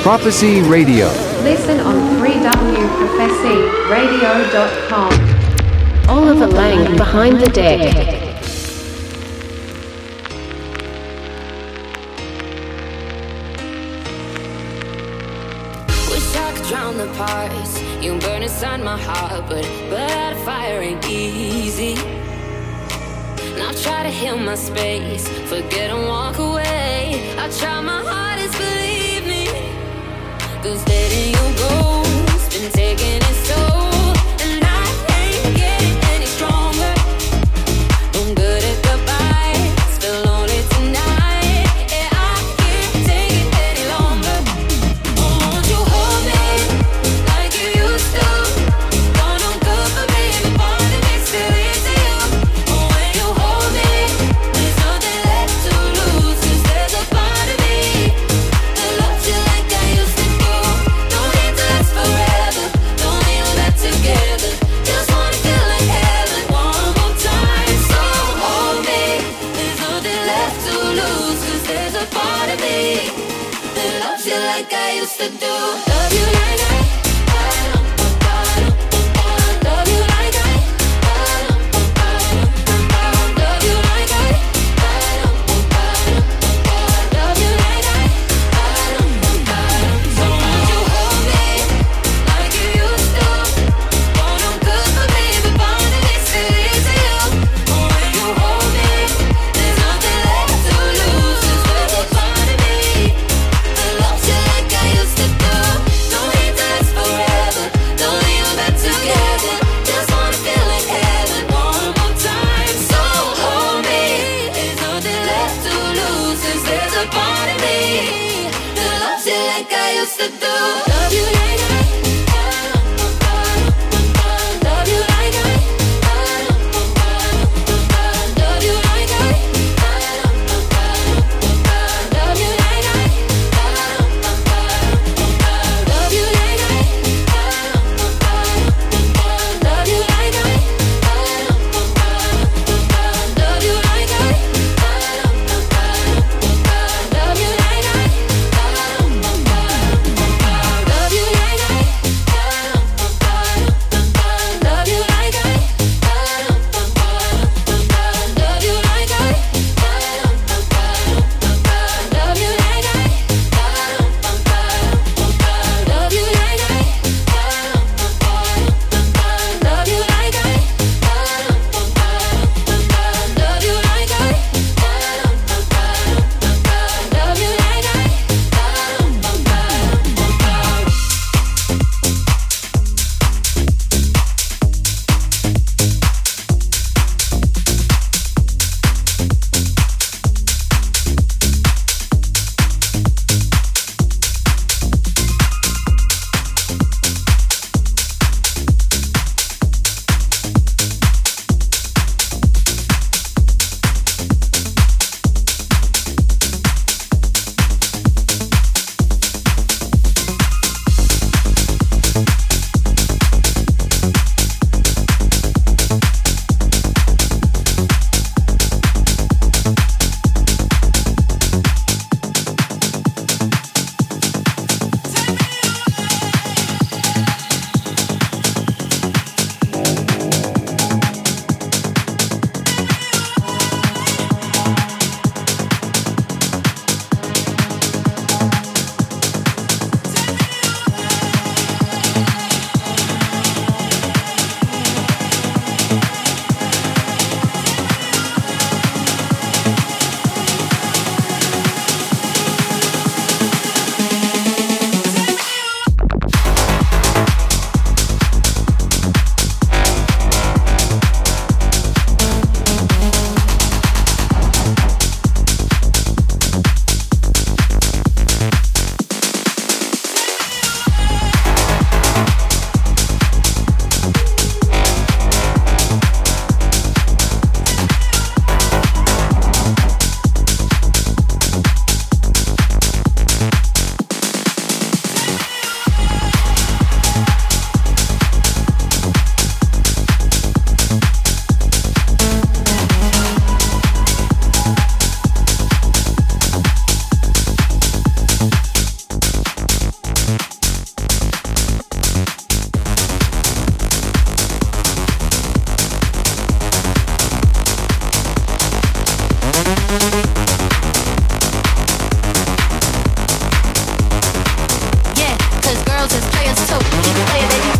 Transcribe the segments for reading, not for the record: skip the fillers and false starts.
Prophecy Radio. Listen on 3wprophecyradio.com. Oliver Lang behind the deck. Drown the parts, you burn inside my heart, but out of fire ain't easy. Now try to heal my space, forget and walk away. I try my hardest, believe me, 'cause letting you go's been taking its toll, and I ain't getting any stronger. I'm good at goodbyes, feel lonely tonight, and I can't take it any longer. Won't you hold me like you used to? Don't know good for me, but part of me still is you. When you hold me, there's nothing left to lose, 'cause there's a part of me that loves you like I used to do. Don't need to last forever, don't need all that together. Just wanna feel like heaven one more time. So hold me, there's nothing left to lose, 'cause there's a part of me that loves you like I used to do. Love you like I love you like I love you like I love you like I so won't you hold me like you used to? Won't no good for me, but part of me still is you. When you hold me, there's nothing left to lose, 'cause there's a part of me that loves you like I used to do. Don't need to Yeah, 'cause girls is players too. Keep it playing, baby.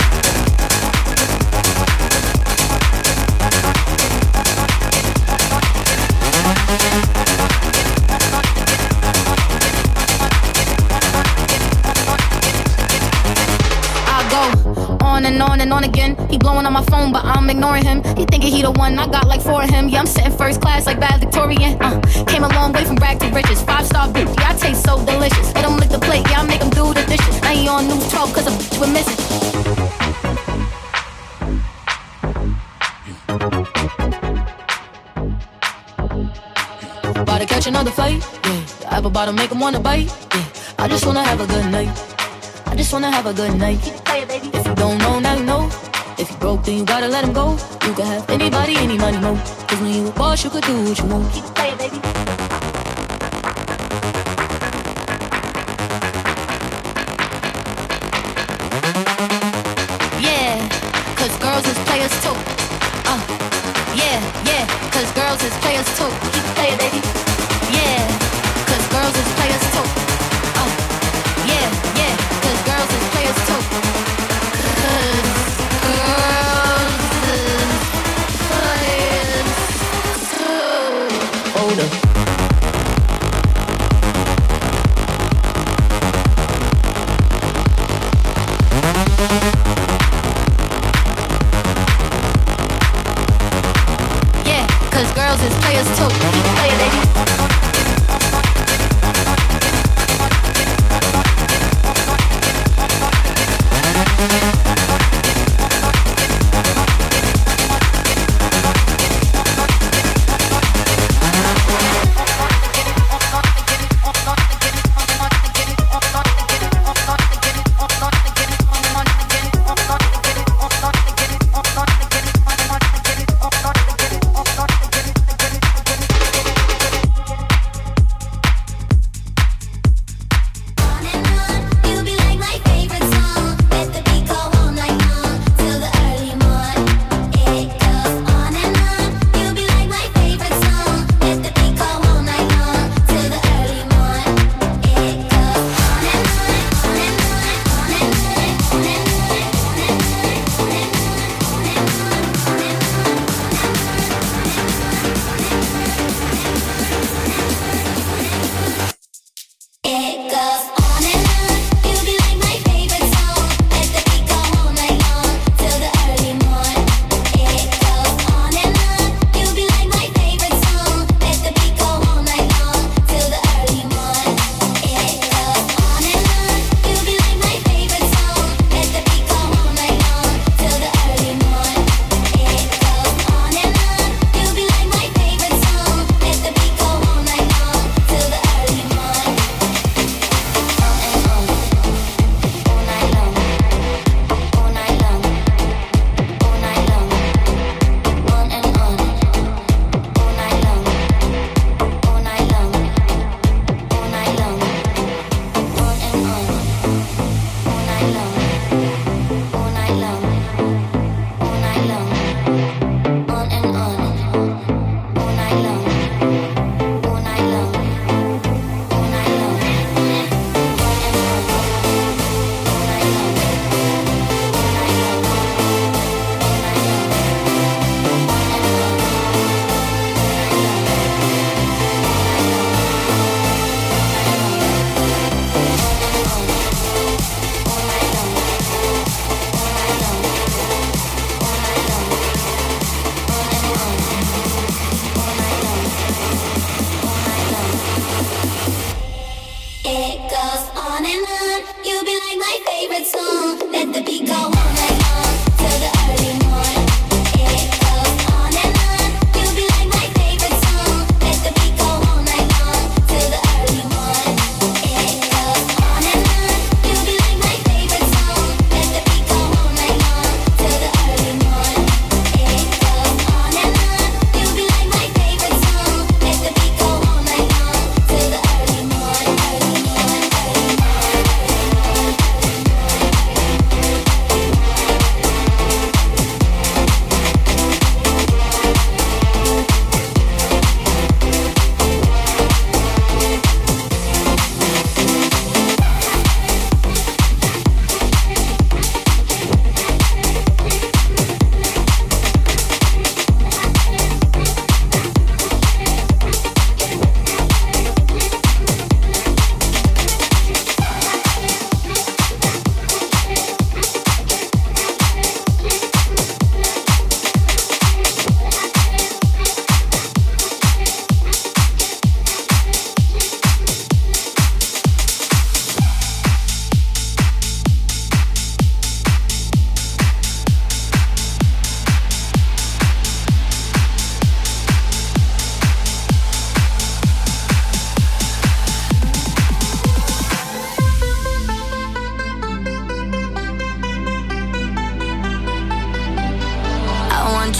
On and on again. He blowing on my phone, but I'm ignoring him. He thinking he the one, I got like 4 of him. Yeah, I'm sitting first class like valedictorian. Came a long way from rag to riches. 5-star bitch, yeah, I taste so delicious. Let him lick the plate, yeah, I make him do the dishes. Now he on news 12 cause a bitch we're missing. About to catch another fight, yeah. The apple bottom make him wanna bite, yeah. I just wanna have a good night. I just wanna have a good night. If you don't know, now you know. If you broke, then you gotta let him go. You can have anybody, any money, no. Cause when you a boss, you could do what you want. Keep it playing, baby. Yeah, cause girls is players too. Yeah, cause girls is players too. Keep it playing, baby. Yeah, cause girls is players too. Yeah, cause girls is players too. Hold up. Yeah, cause girls is players too. Keep it playing, baby.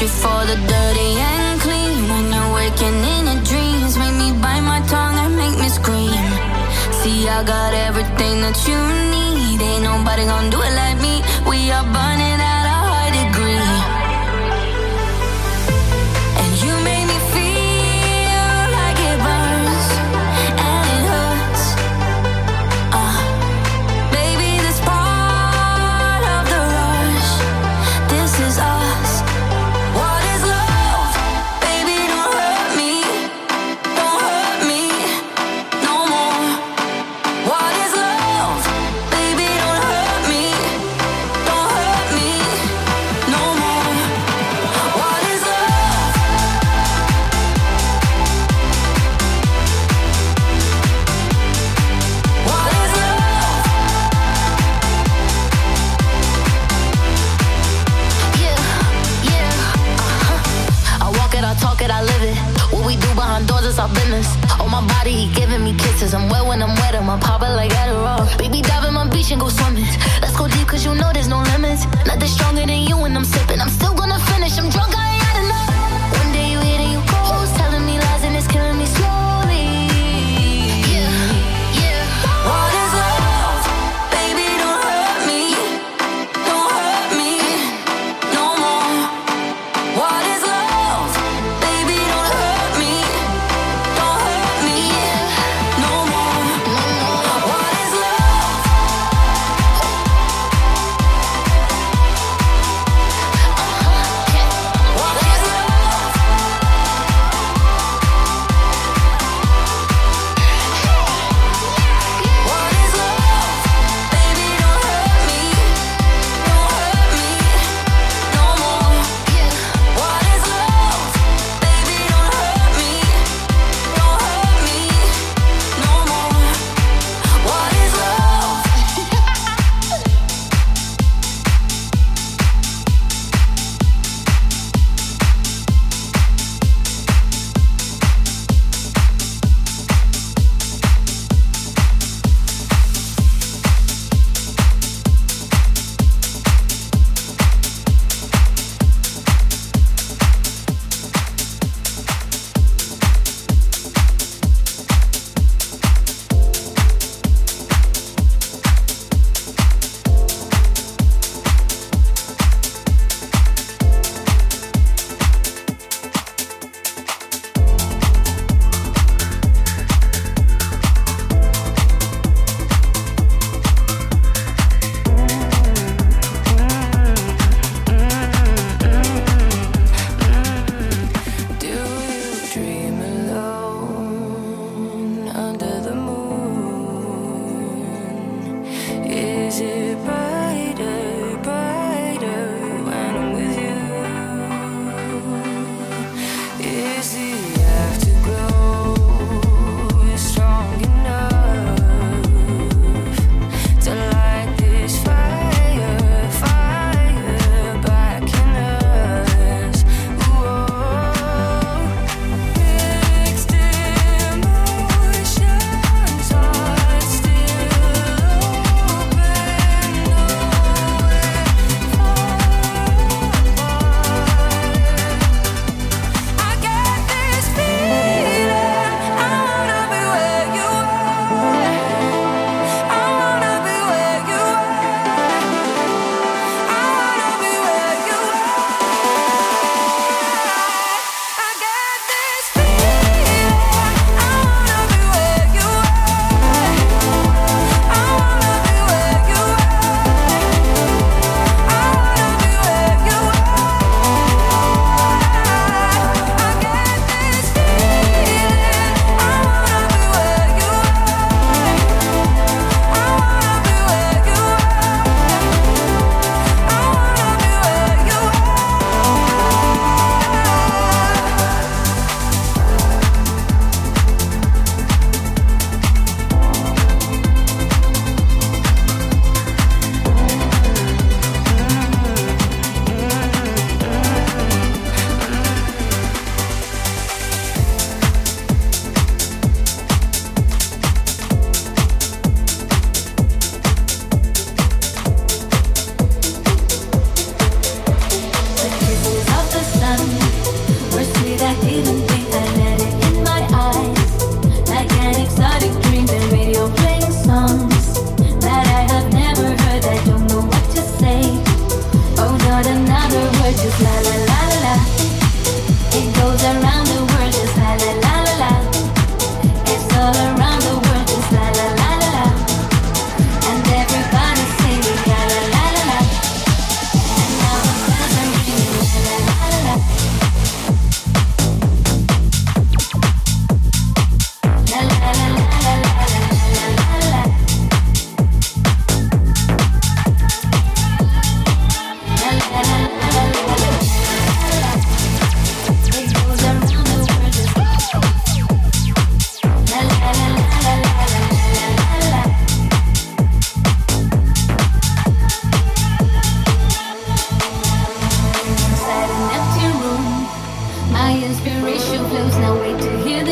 you for the dirty and clean. When you're waking in your dreams, make me bite my tongue and make me scream. See, I got everything that you need. Ain't nobody gonna do it like me. We are burning at a high degree. And you make me feel like it burns and it hurts. Baby, this part of the rush. This is us. What is love? Baby, don't hurt me. Don't hurt me no more. What is love? Baby, don't hurt me. Don't hurt me no more. What is love? What is love? I walk it, I talk it, I live it. What we do behind doors is our business. On my body, he giving me kisses. I'm wet when I'm wet, I'm pop it like Adderall. Baby, dive in my beach and go swimming. Let's go deep, cause you know there's no limits. Nothing stronger than you when I'm sipping. I'm still gonna finish, I'm drunk, I ain't had enough. One day you hit and you ghost, telling me lies and it's killing me slowly. What is love? Baby, don't hurt me. Don't hurt me no more. What is love? Baby, don't hurt me. Don't hurt me no more. What is love? What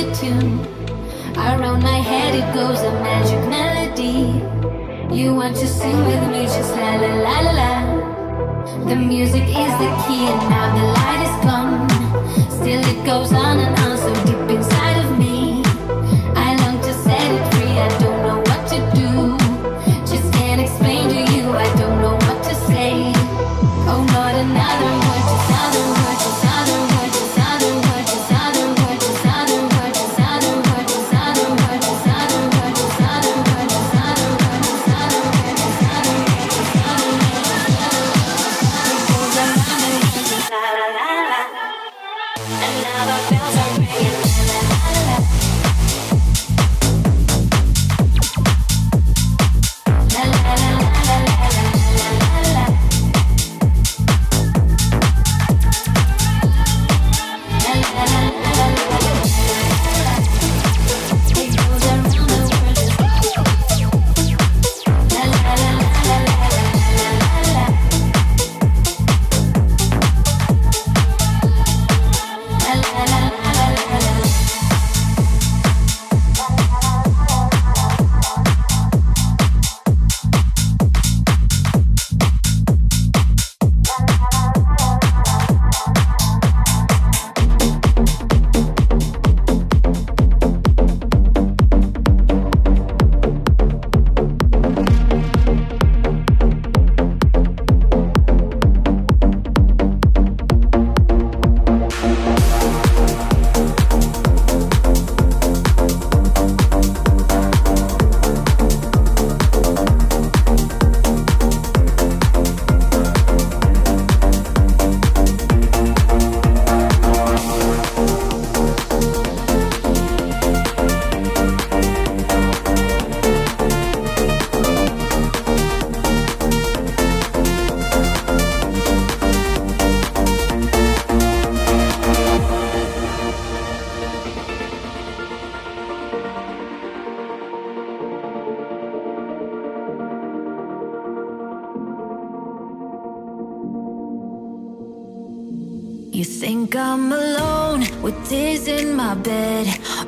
the tune. Around my head it goes a magic melody. You want to sing with me, just la la la la la. The music is the key and now the light is gone. Still it goes on and on so deep inside of me. I long to set it free, I don't know what to do. Just can't explain to you, I don't know what to say. Oh, not another word, just other word, just other word, just other word, just other word, just other word, just other word, just other word, just other word, just other word, just other word, just other word, just other word, just other word. It goes around and just la la la la. And now the bells are ringing, la la la la. La la la la la la la la la. You think I'm alone with tears in my bed,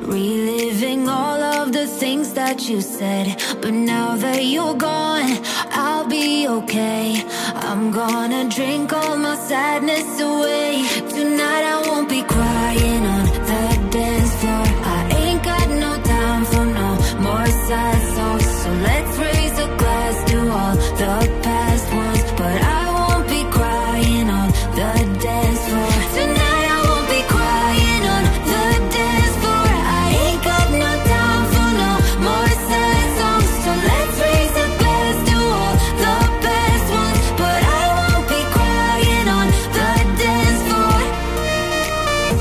reliving all of the things that you said. But now that you're gone, I'll be okay. I'm gonna drink all my sadness away. Tonight I won't be crying on the dance floor. I ain't got no time for no more sad songs. So let's raise a glass to all the past ones. But I won't be crying on the dance floor. Tonight I won't be crying on the dance floor. I ain't got no time for no more sad songs. So let's raise a glass to all the best ones. But I won't be crying on the dance floor.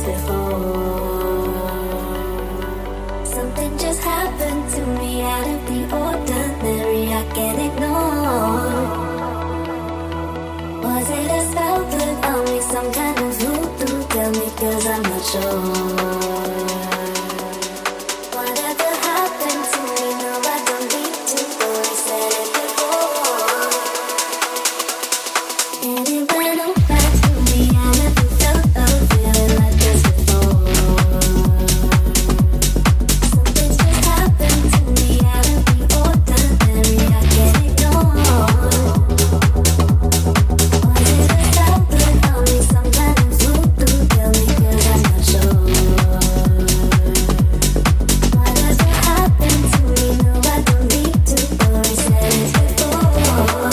before. Something just happened to me out of the ordinary. I can't ignore. Was it a spell put on me? Some kind of voodoo? Tell me, 'cause I'm not sure. Whatever happened to me, no, I don't need to go. I said it before. And it went all back to me. I never felt a feeling like this before. Something just happened to me out of the ordinary. I can't ignore. Was it a spell put on me? Some kind of voodoo? Tell me, 'cause I'm not sure. Whatever happened to me, no, I don't need to go. I said it before.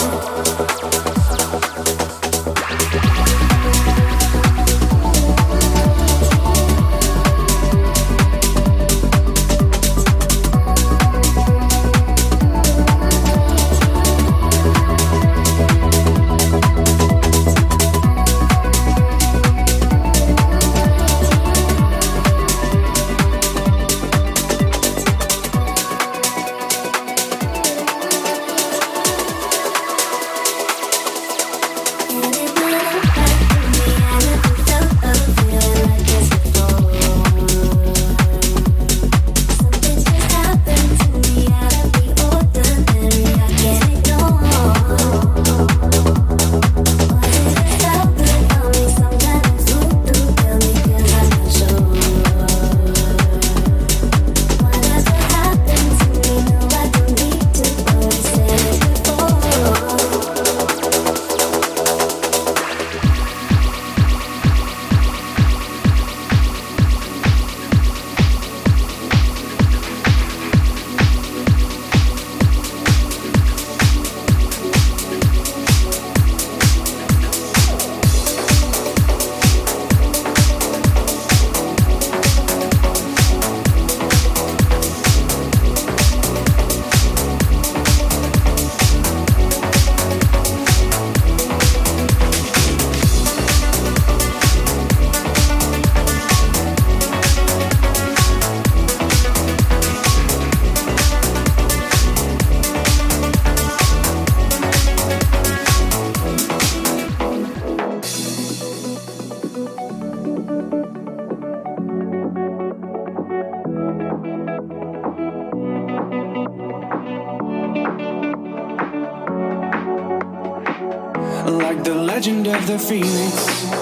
Like the legend of the phoenix,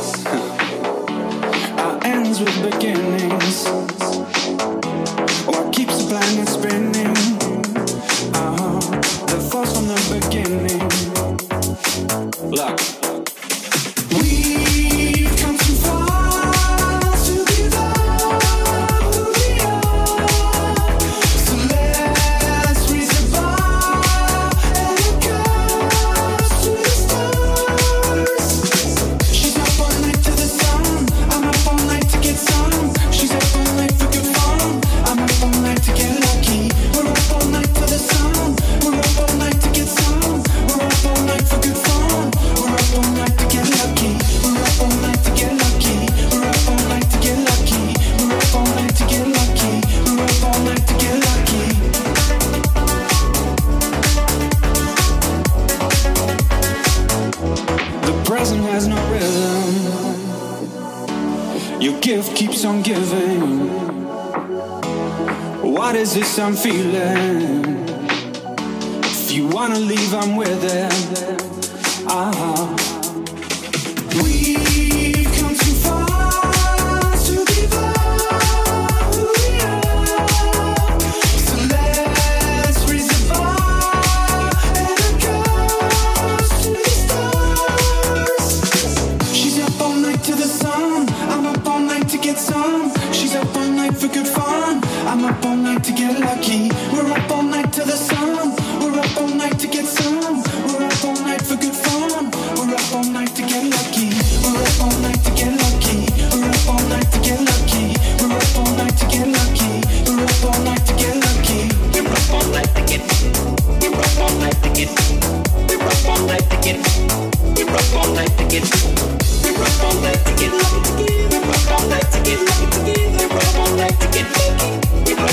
our ends with beginnings. What keeps the planet spinning? The force from the beginning. Look, we've come too far to give up who we are. So let's raise the bar and it goes to the stars. She's up all night to the sun. I'm up all night to get some. She's up all night for good fun. I'm up all night to get lucky. We're up all night to the sun. We're up all night to get some. We're up all night for good fun. We're up all night to get lucky. We're up all night to get lucky. We're up all night to get lucky. We're up all night to get lucky. We're up all night to get lucky. The present has no rhythm. Your gift keeps on giving. What is this I'm feeling? If you wanna leave, I'm with it. We've come too far to give up who we are. So let's raise the bar and it goes to the stars. She's up all night to the sun. I'm up all night to get some. She's up all night for good fun. I'm up all night to get lucky. We're up all night to the sun. We're up all night to get some. We're up all night for good fun. We're up all night to get lucky. We're up all night to get lucky. We're up all night to get lucky. We're up all night to get lucky. We're up all night to get lucky. We're up all night to get. We're up all night to get. We're up all night to get. We're up all night to get. We're up all night to get lucky. We're up all night to get lucky.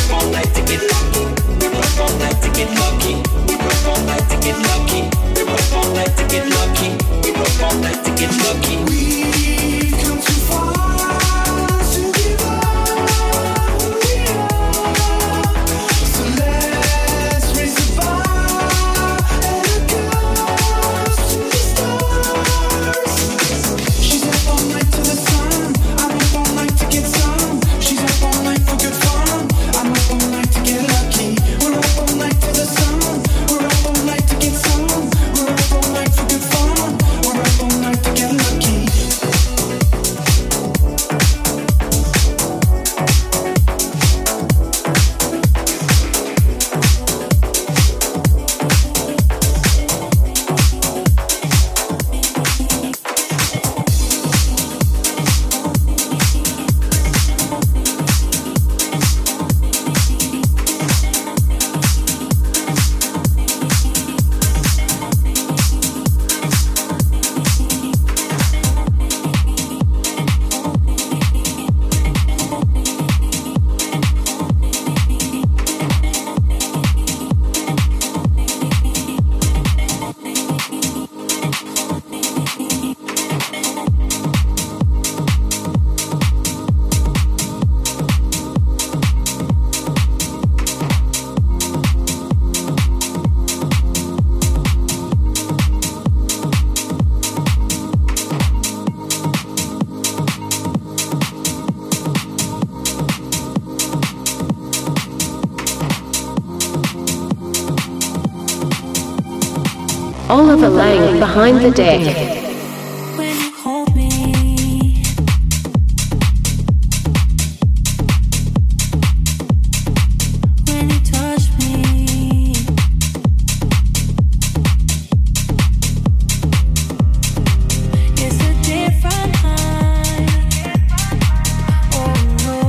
Oliver Lang behind the deck. When you hold me, when you touch me, it's a different high. Oh no.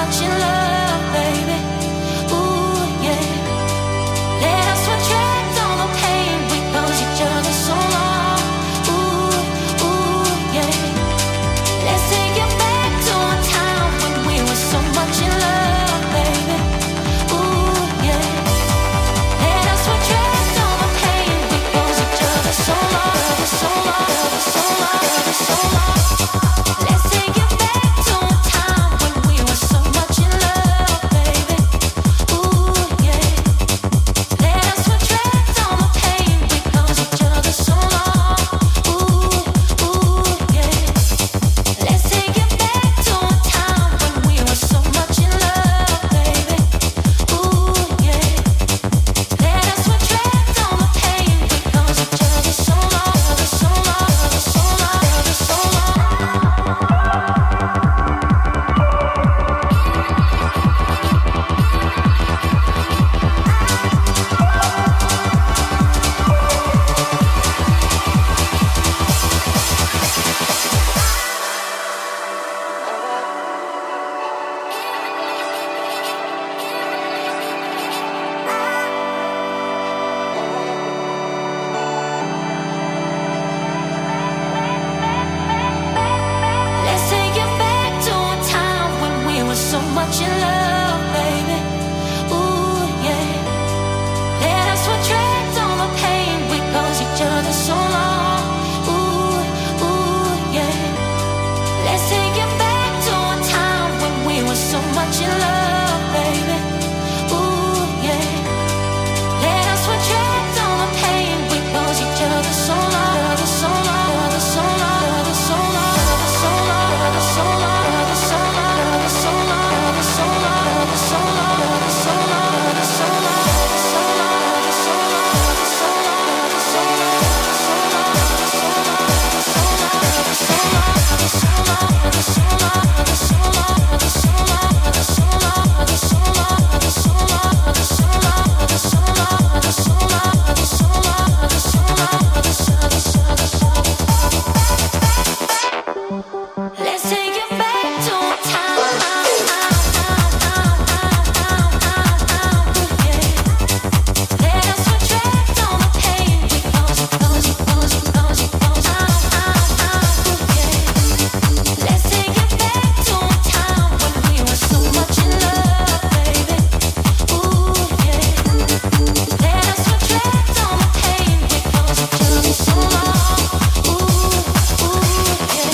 much in love, baby. Ooh, yeah. Let us retract all the pain. We knows each other so long. Ooh, ooh, yeah. Let's take it back to a time when we were so much in love, baby. Ooh, yeah. Let us retract all the pain. We knows each other so long, so long, so long, so long. Let's take it back to a time when we were so much in love, baby. Ooh, yeah. Let us retract all the pain. We knows each other so long. Ooh, ooh, yeah. Let's take it back to a time when we were so much in love, baby. Ooh, yeah. Let us retract all the pain. We knows each other so long, so long, so long, so long. Let's take it back to a time when we were so much in love, baby. Ooh, yeah. Let us retract all the pain. We knows each other so long. Ooh, ooh, yeah. Let's take it back to a time when we were so much in love, baby. Ooh, yeah. Let us retract all the pain. We knows each other so long, so long, so long, so long, so long, so long, so long, so long, so long, so long, so long, so Let's take it back to a time. Let us retract all the pain. We knows it, knows it, knows it, knows it, knows it. Let's take it back to a time when we were so much in love, baby. Ooh, yeah. Let us retract all the pain. We knows each other so long. Ooh, ooh, yeah.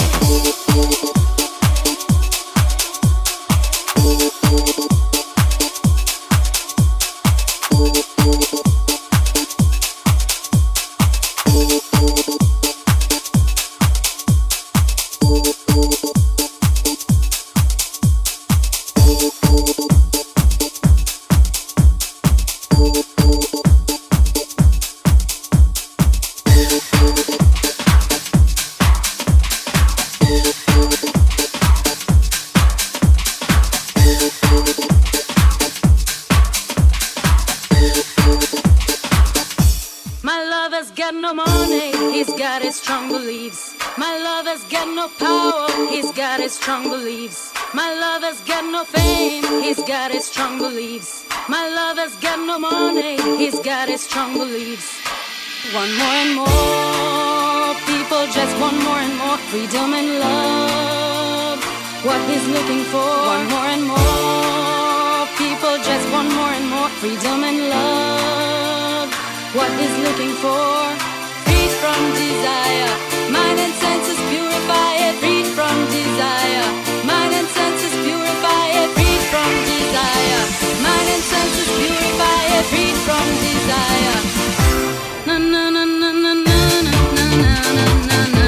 My lover's got no money, he's got his strong beliefs. My lover's got no power, he's got his strong beliefs. My lover's got no fame, he's got his strong beliefs. My lover's got no money, he's got his strong beliefs. One more and more people just want more and more freedom and love. What he's looking for. One more and more people just want more and more freedom and love. What he's looking for. Freed from desire, mind and senses purify it. Freed from desire, mind and senses purify it. Freed from desire, mind and senses purify it. Freed from desire. Na na na na na na na na na na na.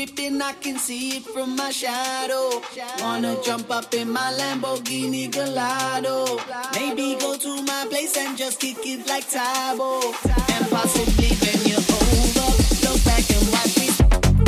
creeping, I can see it from my shadow. Wanna jump up in my Lamborghini Gallardo. Maybe go to my place and just kick it like Tybo. And possibly bend you over. Look back and watch me.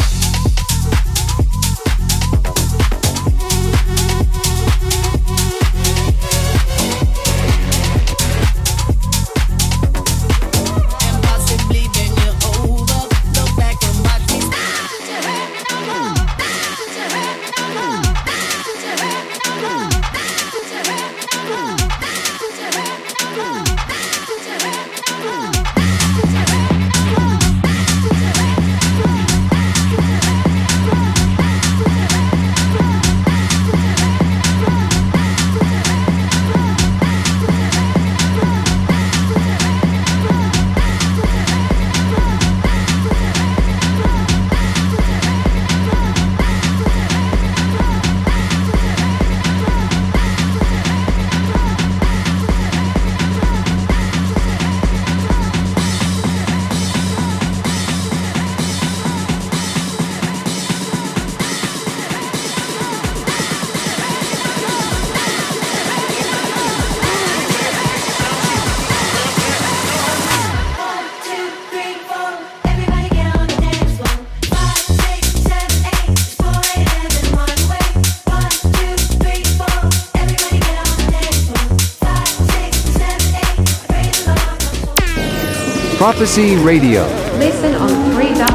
Prophecy Radio. Listen on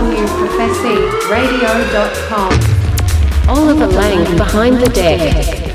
3wprophecyrradio.com. Oliver Lang behind the deck.